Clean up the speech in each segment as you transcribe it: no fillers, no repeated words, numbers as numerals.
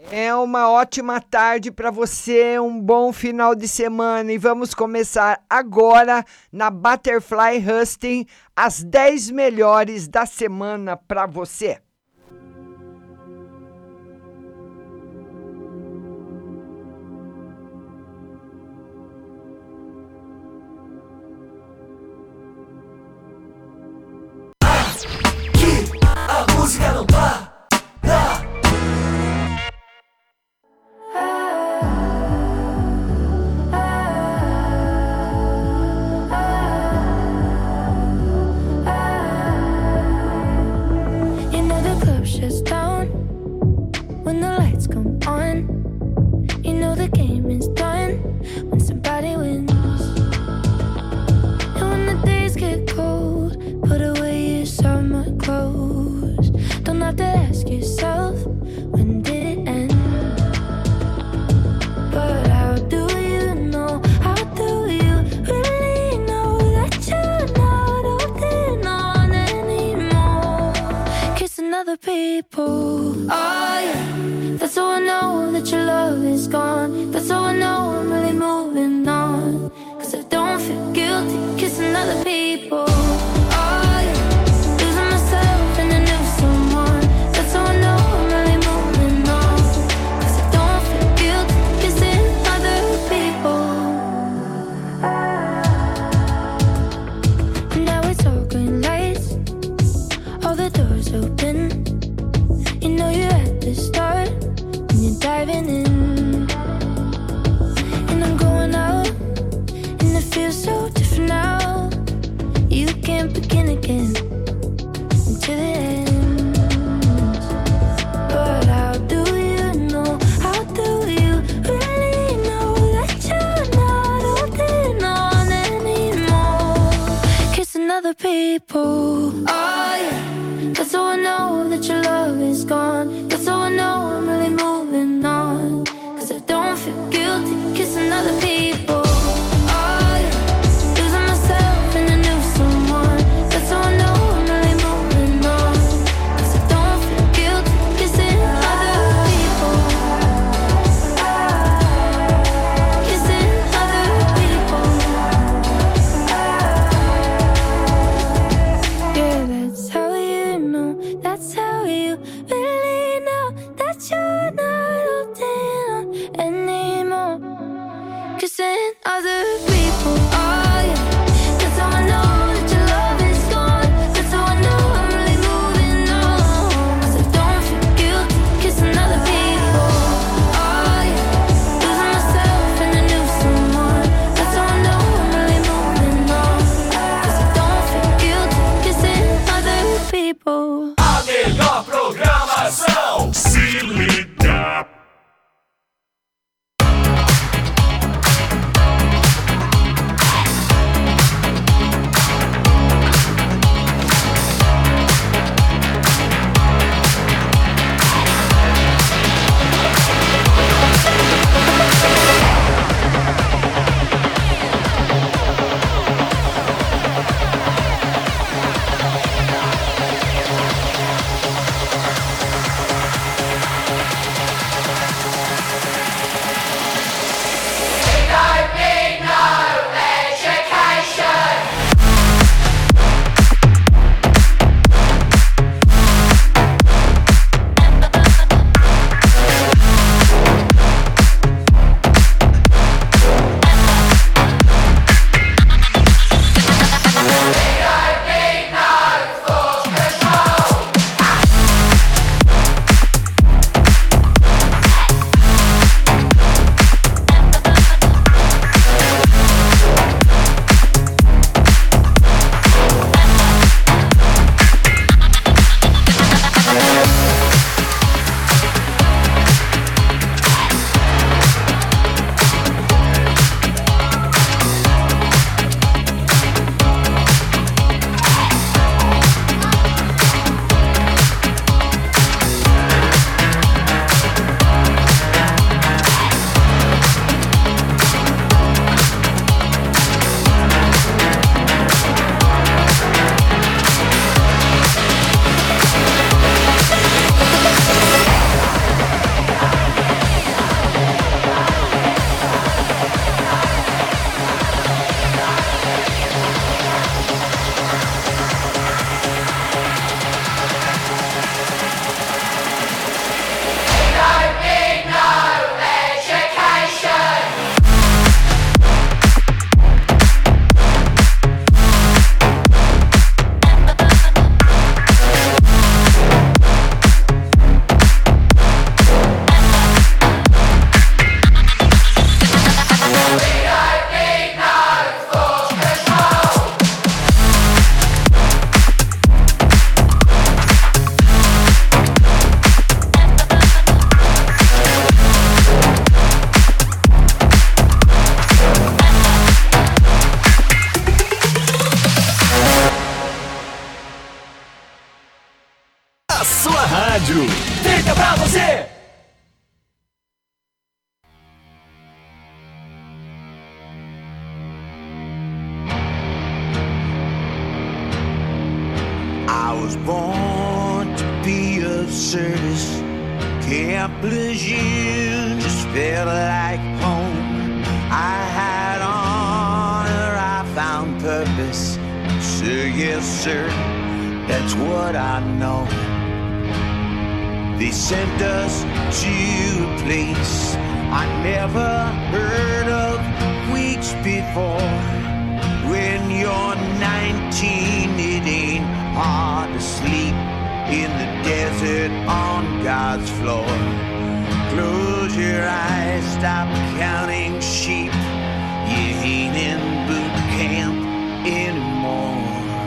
É uma ótima tarde para você, um bom final de semana e vamos começar agora na Butterfly Husting as 10 melhores da semana para você. Aqui a música não para. Shuts down when the lights come on. You know the game is done when somebody wins. And when the days get cold, put away your summer clothes. Don't have to ask yourself, when did it end? But how do you know? How do you really know that you're not holding on anymore? Kissing other people. Oh yeah, that's how I know that your love is gone. That's how I know I'm really moving on. Cause I don't feel guilty kissing other people. Oh yeah, losing myself in a new someone. That's how I know I'm really moving on. Cause I don't feel guilty kissing other people. Now it's all green lights, all the doors open. You know you're at the start when you're diving in. And I'm going out, and it feels so different now. Camp Lejeune just felt like home. I had honor, I found purpose. Sir, yes, sir, that's what I know. They sent us to a place I never heard of weeks before. When you're 19, it ain't hard to sleep in the desert on God's floor. Close your eyes, stop counting sheep. You ain't in boot camp anymore.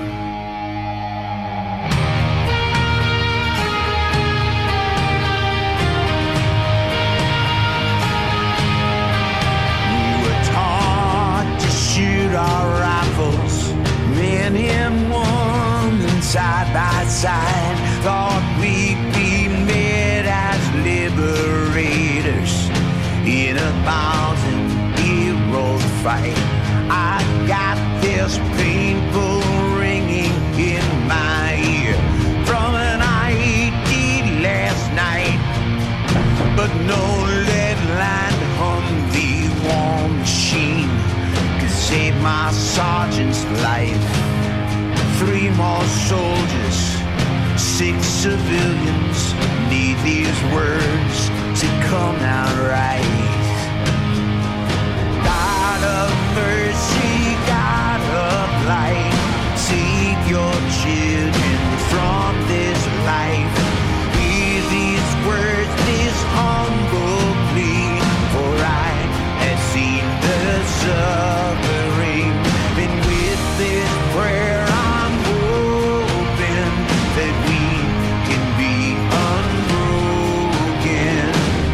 Shoot our rifles, men and women side by side. Thought we'd be met as liberators in a 1,000-year-old fight. I got this painful ringing in my ear from an ID last night, but no lead-lined Humvee war machine saved my sergeant's life. 3 more soldiers, 6 civilians need these words to come out right. God of mercy, God of light, save your children from this life. Hear these words, this humble plea, for I have seen the suffering. And with this prayer I'm hoping that we can be unbroken.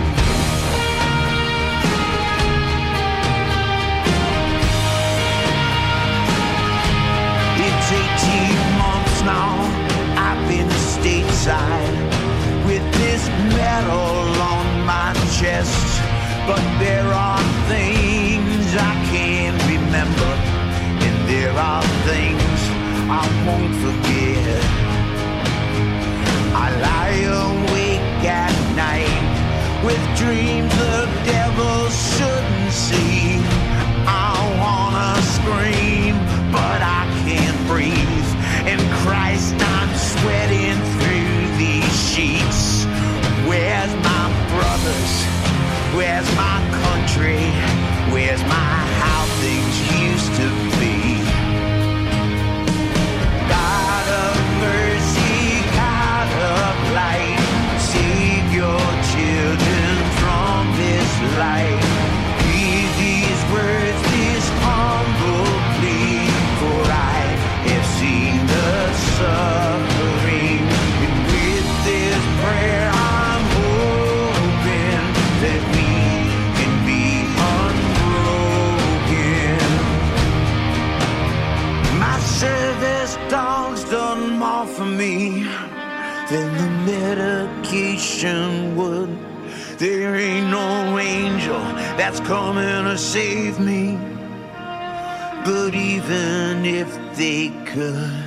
It's 18 months now I've been stateside with this medal on my chest, but there are things I can't remember, and there are things I won't forget. I lie awake at night with dreams the devil shouldn't see. I wanna scream, but I can't breathe. And Christ, I'm sweating through these sheets. Where's my brothers? Where's my country? Where's my how things used to be? God of mercy, God of light, save your children from this life. Hear these words, this humble plea, for I have seen the suffering. And with this prayer I'm hoping that we can be unbroken. My service dog's done more for me than the medication would. There ain't no angel that's coming to save me, but even if they could,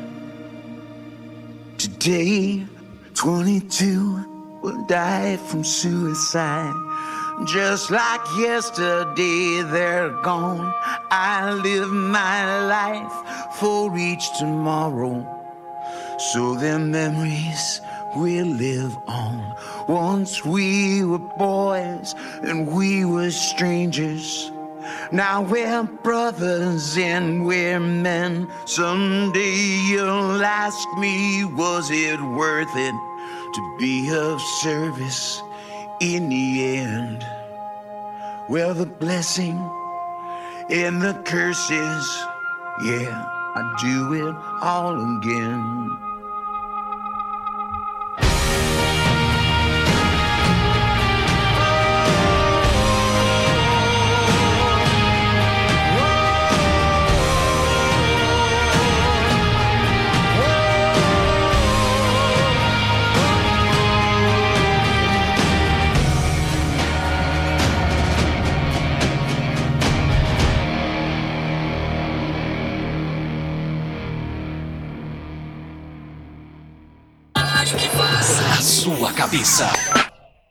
today 22 will die from suicide. Just like yesterday, they're gone. I live my life for each tomorrow, so their memories will live on. Once we were boys and we were strangers. Now we're brothers and we're men. Someday you'll ask me, was it worth it to be of service in the end? Well, the blessing and the curses, yeah, I do it all again. A sua cabeça.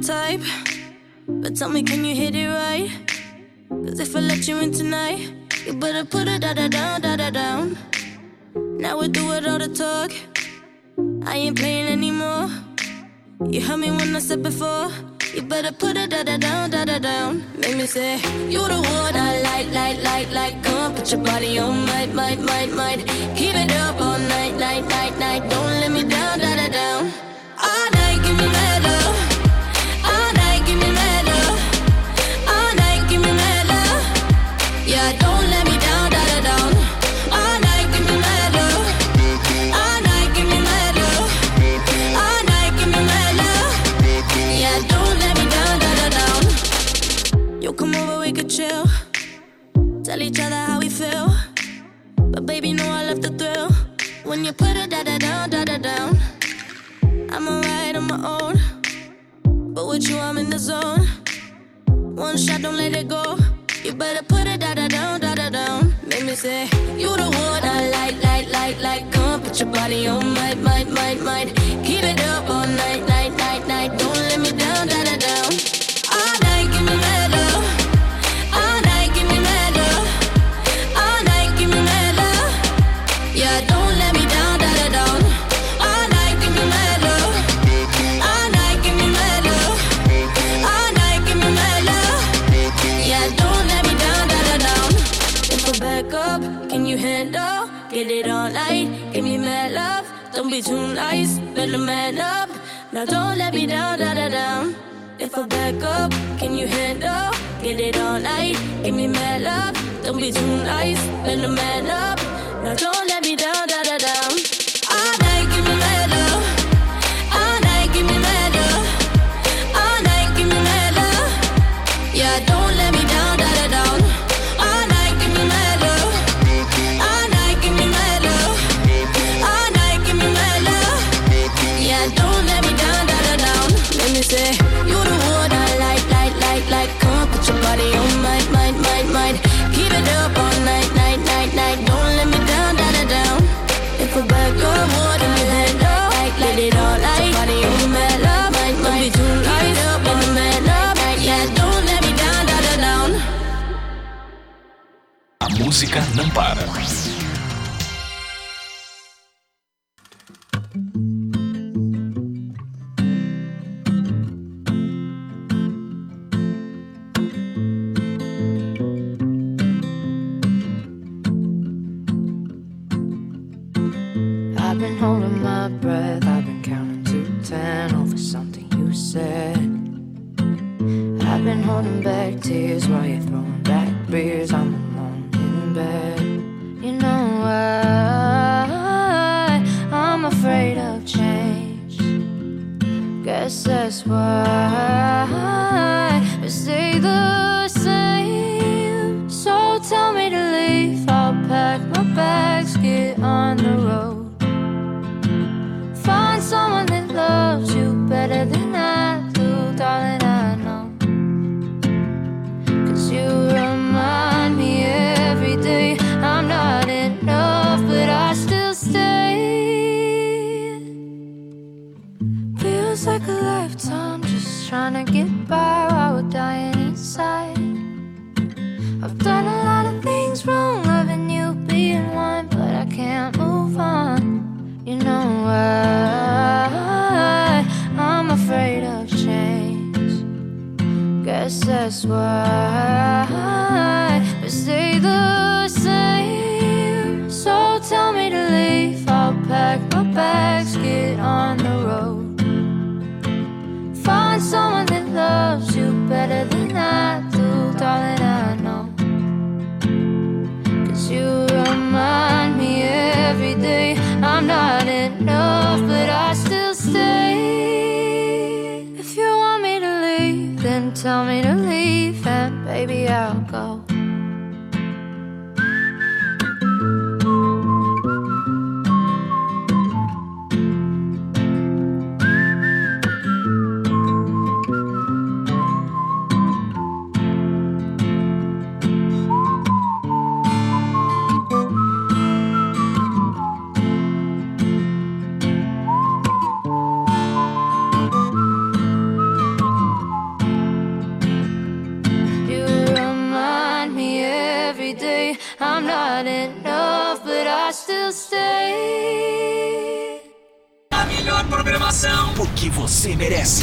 type, but tell me, can you hit it right? Cause if I let you in tonight, you better put it down. Now we do it all the talk, I ain't playing anymore. You heard me when I said before, you better put it down. Make me say, you the one I like. Come on, put your body on, might. Keep it up all night. Don't let me down. All night, give me mad love. All night, give me mad love. All night, give me mad love. Yeah, don't let me down. All night, give me mad love. All night, give me mad love. All night, give me mad love. Yeah, don't let me down. You come over, we could chill. Tell each other how we feel. But baby, know I love the thrill. When you put it down. I'm alright on my own, but with you I'm in the zone. One shot, don't let it go. You better put it down. Make me say, you the one I like. Come on, put your body on, might. Keep it up all night. Don't let me down. All night, give me mad love. All night, give me mad love. All night, give me mad love. Yeah, don't let me down. All night, give me mad love. All night, give me mad love. All night, give me mad love. Yeah, don't let me down. If I back up, can you handle? Get it all night, give me mad love. Don't be too nice, better man up. Now don't let me down. If I back up, can you handle? Get it all night, give me mad love. Don't be too nice, better man up. Now don't let me down. All night, give me mad love. All night, give me mad love. All night, give me mad love. Yeah, don't let me down. All night, give me mad love. All night, give me mad love. All night, give me mad love. Yeah, don't let me down. Let me say, you the one I like. Come on, put your body on, might. Keep it up all night. Don't let me down. If I back up, what in your hand up? Let it all night. Body on, mad love. Don't be too nice, in the mad love. Yeah, don't let me down. A música não para. I've been holding my breath, I've been counting to 10 over something you said. I've been holding back tears while you're throwing back beers. I'm alone in bed. You know why I'm afraid of change. Guess that's why we stay the same. So tell me to leave, I'll pack my bags, get on the road. Find someone that loves you better than I do, darling, I know. Cause you remind me every day I'm not enough, but I still stay. Feels like a lifetime just trying to get by while we're dying inside. I've done a lot of things wrong, loving you being one, but I can't move on. You know why I'm afraid of change. Guess that's why we stay the same. So tell me to leave, I'll pack my bags, get on the road. Find someone that loves you better than I do, darling, I know. Cause you remind me every day I'm not enough, but I still stay. If you want me to leave, then tell me to leave, and baby, I'll go. say I'm not enough, but I still stay. A melhor programação, porque você merece.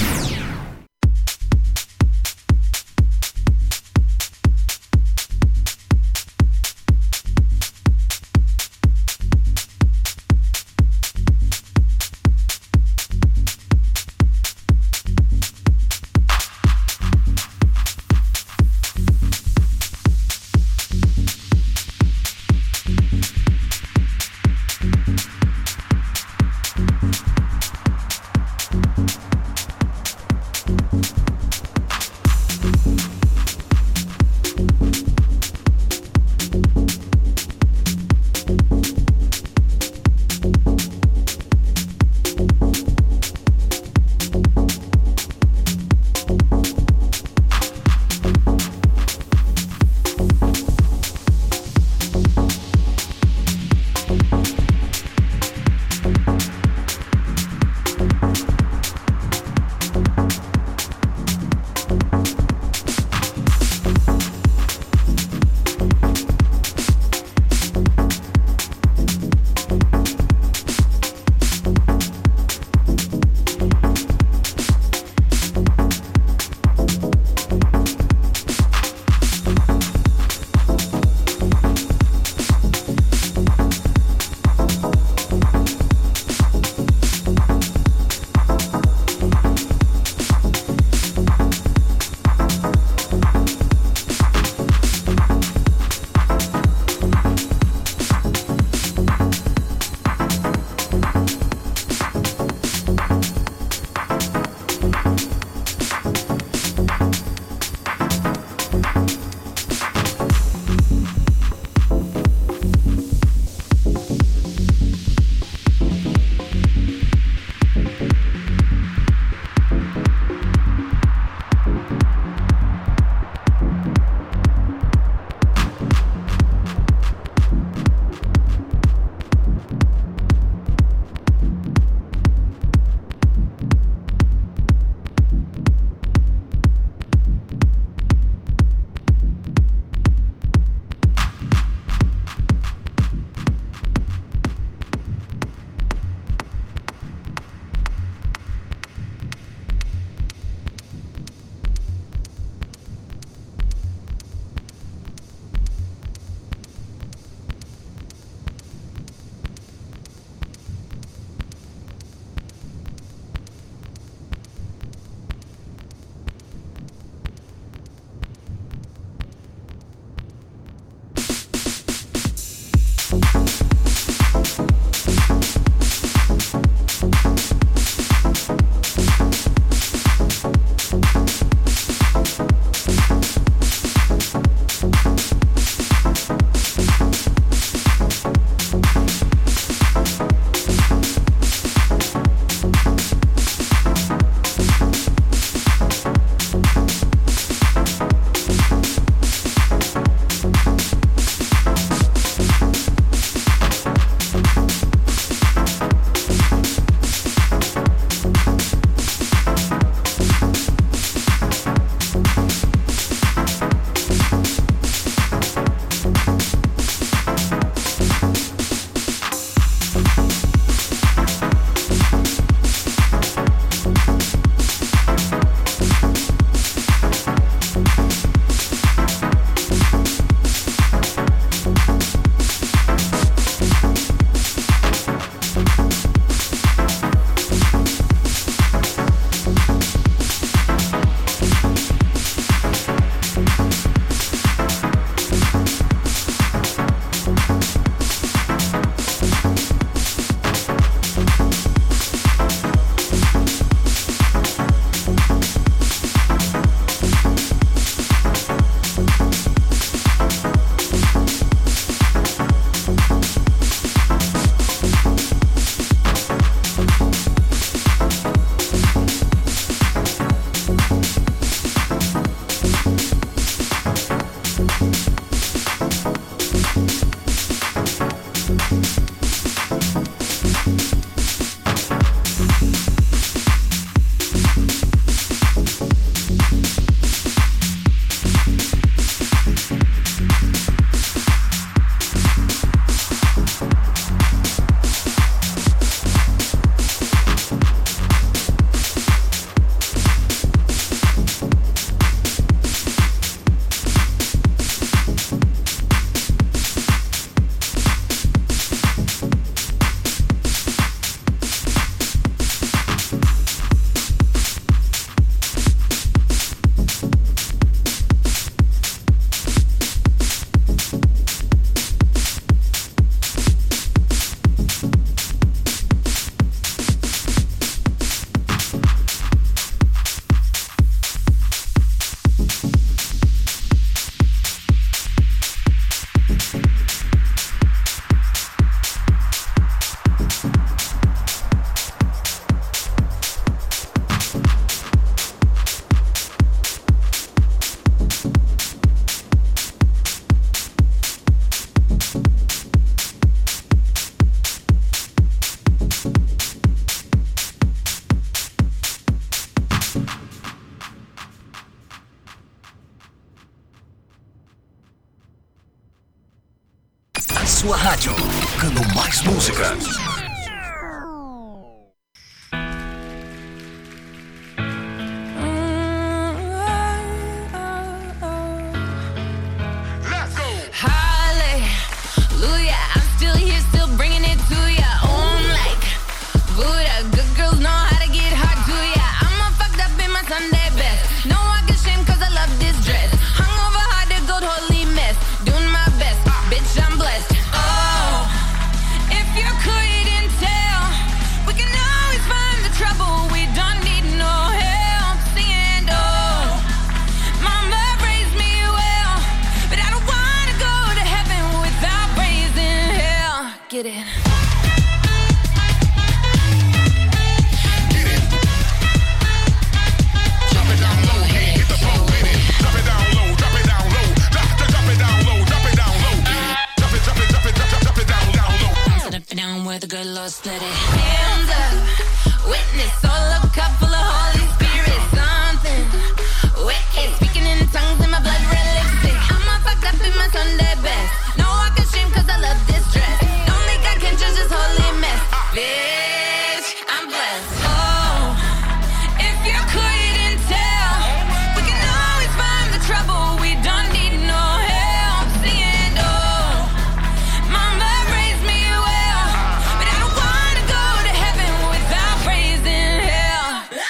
sua rádio, tocando mais música. Get it. Where the good Lord split it. Hands up, witness, all a cup full of Holy Spirit. Something wicked, speaking in tongues in my blood red lipstick. I'm all fucked up in my Sunday best. No, I can shame cause I love this dress. Don't think I can judge this holy mess. Bitch, I'm blessed. Oh, if you couldn't tell, we can always find the trouble. We don't need no help. Singing, oh, mama raised me well, but I don't wanna go to heaven without praising hell.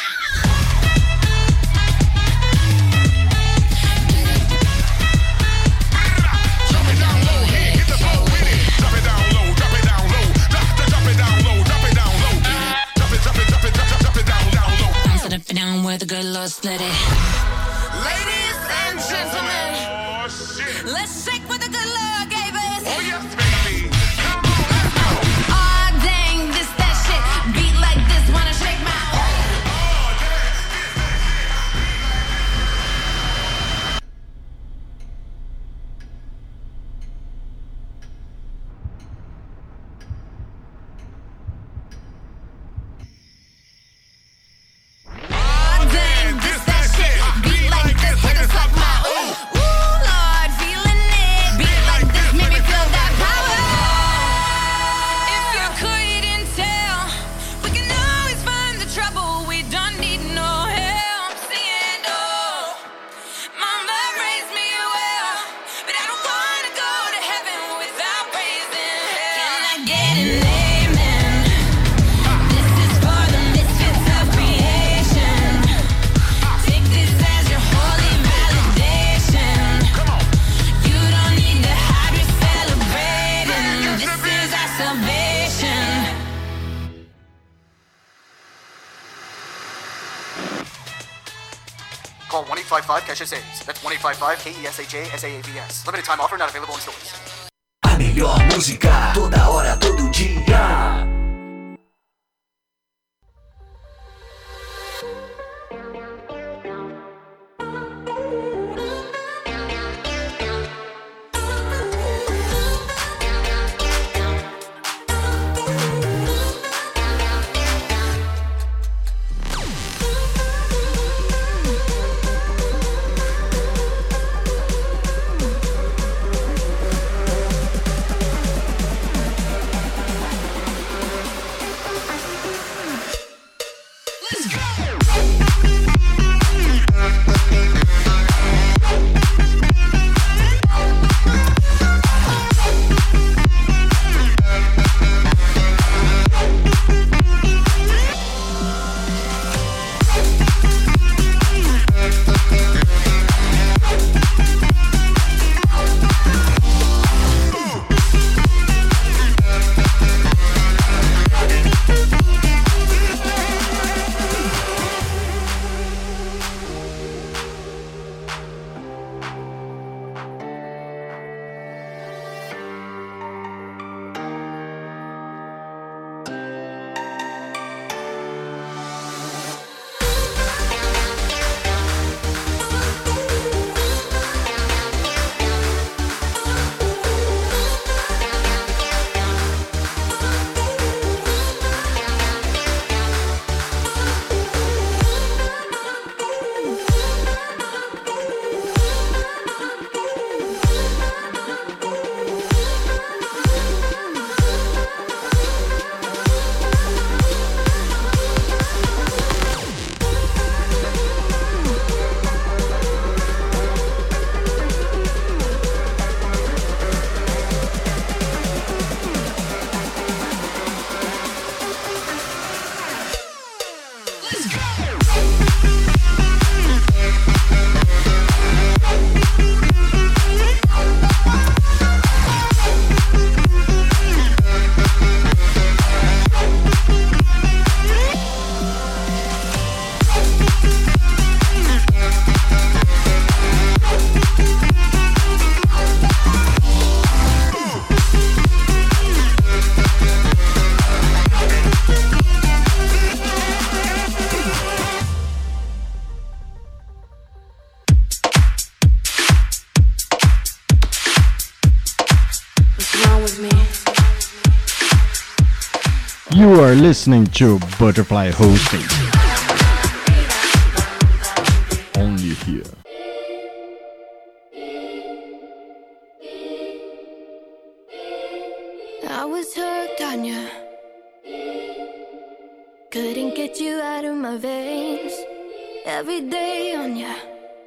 Drop it down low, hit the floor with it. Drop it down low, drop it down low. Drop it down low, drop it down low. Drop it down low. I'm set up and down where the good Lord split it. Ladies and gentlemen, Oh shit. let's shake what the good Lord gave us. Oh yes, baby. Come on, let's go. Aw, dang, this that shit. Beat like this, wanna shake my Aw, dang, this that shit. Beat like this, hit us like my ooh. Ooh, Lord, feeling it. Beat like this, make me feel that power. If you couldn't tell, we can always find the trouble. We don't need no help. Singing, oh, mama raised me well, but I don't wanna go to heaven without praising hell. Can I get an amen? This is for the misfits of creation. Take this as your holy validation. You don't need to hide, we're celebrating. This is our salvation. Call 1-855-CASH-SAVES. That's 1-855-KESHA-SAAVS. Limited time offer not available in stores. A melhor música, toda hora, todo dia. You are listening to Butterfly Hosting. Only here. I was hooked on you. Couldn't get you out of my veins. Every day on you.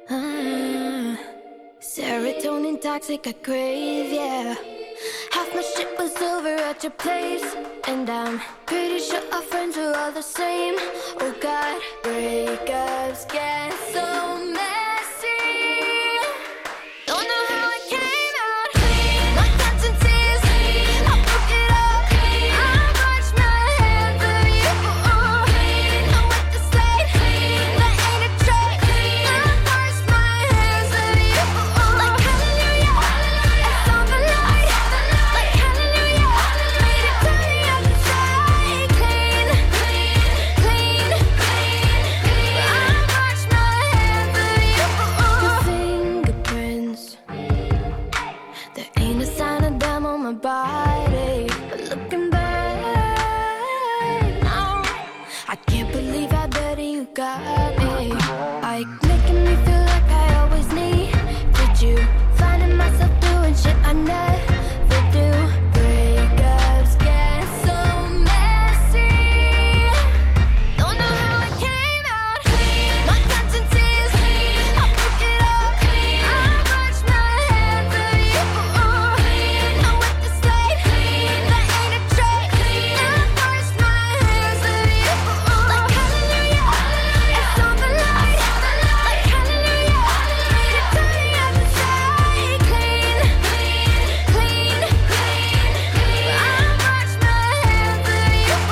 Serotonin toxic, I crave, yeah. Half my shit was over at your place, and I'm pretty sure our friends are all the same. Oh God, breakups get so messy. Don't know how it came out. My conscience is, I broke it up. I wash my hands of you. Know what to say, that ain't a trait. I wash my hands of you. Like hallelujah, I saw the light. Like hallelujah, made it to the other side. Clean, clean, clean. I wash my hands of you. Your fingerprints, there ain't a sign of them on my body. But looking back now, I can't believe how dirty you got me. Like making me feel like I always need. Did you finding myself doing shit I never do? Breakups get so messy. Don't know how it came out. My conscience is, I broke it up. I wash my hands of you. Know what to say, that ain't a trait. I wash my hands of you. Like hallelujah, I saw the light. Like hallelujah, made it to the other side. Clean, clean, clean. I wash my hands of you. I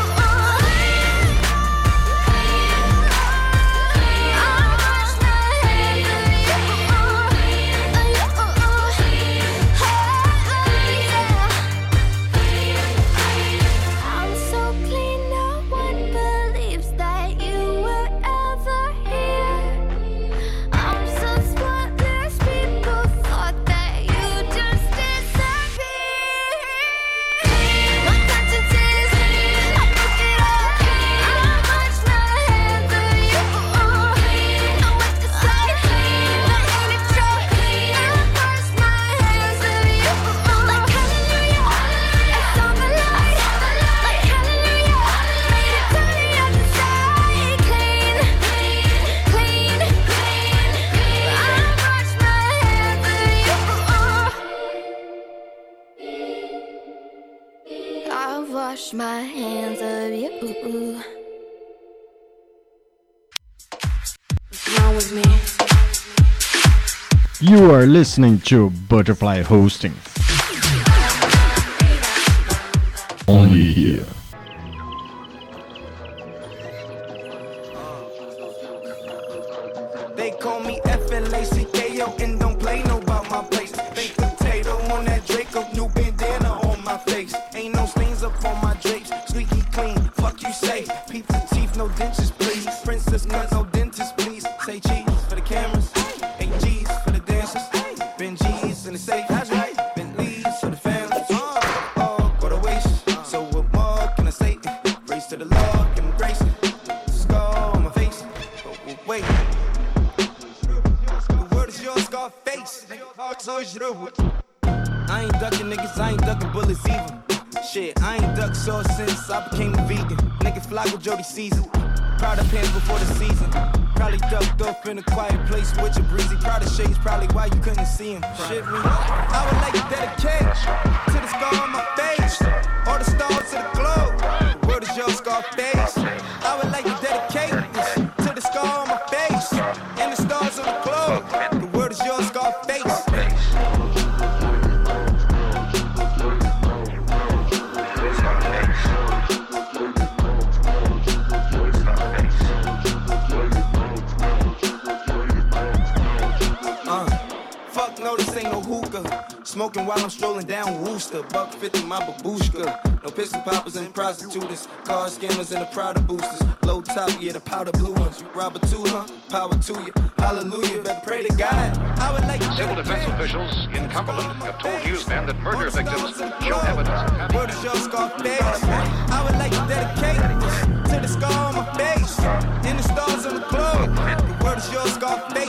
wash my hands of you. I'm so clean, no one believes that you were ever here. I'm so spotless, people thought that you just disappeared. My conscience is, I broke it up. I wash my hands of you. Know what to say, that ain't a trait. I wash my hands of you. Like hallelujah, I saw the light. Like hallelujah, made it to the other side. Clean, clean, clean. I wash my hands of you. I wash my hands of you. What's wrong with me? You are listening to Butterfly Hosting. Only here. They call me FLACKO and don't play no about my place. Baked potato on that Draco, new bandana on my face. Ain't no stains up on my drapes, squeaky clean. Fuck you say, peep the teeth, no dentures please. Princess cut, no dentist please. Say cheese for the cameras, 8 G's for the dancers. Ben G's in the safe, that's right. Bentleys for the family. Go to waste. So what more can I say? Race to the Lord, give him grace. Scar on my face, but wait. The word is yours, Scarface. I ain't ducking niggas, I ain't ducking bullets either. Shit, I ain't ducked sauce since I became a vegan. Nigga fly with Jody Caesar. Proud of pants before the season. Probably ducked off in a quiet place with your breezy. Proud of shades, probably why you couldn't see him. Shit, me. I would like to dedicate to the scar on my face. All the stars to the globe. The word is yours, Scarface. I would like to dedicate this to the scar on my face. And the stars on the globe. The word is yours, Scarface. Fuck no, this ain't no hookah. Smoking while I'm strolling down Wooster. $1.50 my babushka. No pistol poppers and prostitutes. Car scammers and the Prada boosters. Low top, yeah, the powder blue ones. You rob a two, huh? Power to you. Hallelujah, better pray to God. I would like Civil defense officials in Cumberland have told Newsman that murder victims show evidence of Word is your Scarface. I would like to dedicate to the scar on my face and the stars on the globe. The word is your Scarface.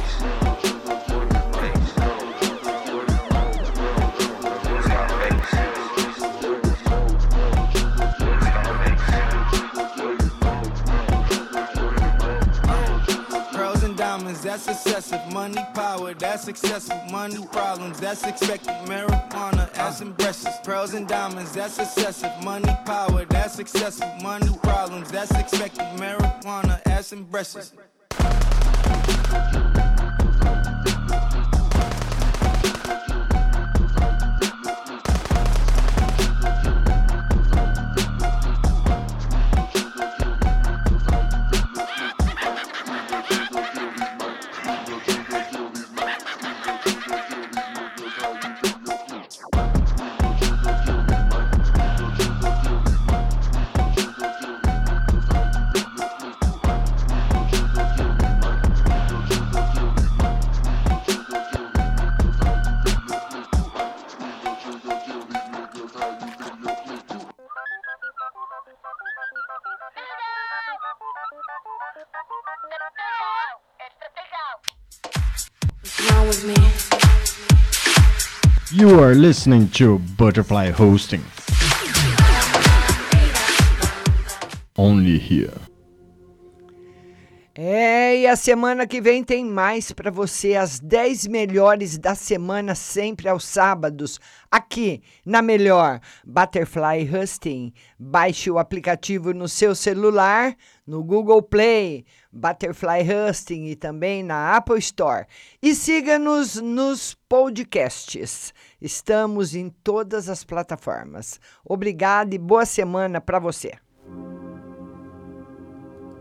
That's excessive. Money, power, that's excessive. Money, problems, that's expected. Marijuana, ass and breasts. Pearls and diamonds, that's excessive. Money, power, that's excessive. Money, problems, that's expected. Marijuana, ass and breasts. You are listening to Butterfly Hosting. Only here. E a semana que vem tem mais para você, as 10 melhores da semana, sempre aos sábados, aqui na melhor Butterfly Hosting. Baixe o aplicativo no seu celular, no Google Play, Butterfly Hosting e também na Apple Store. E siga-nos nos podcasts. Estamos em todas as plataformas. Obrigado e boa semana para você.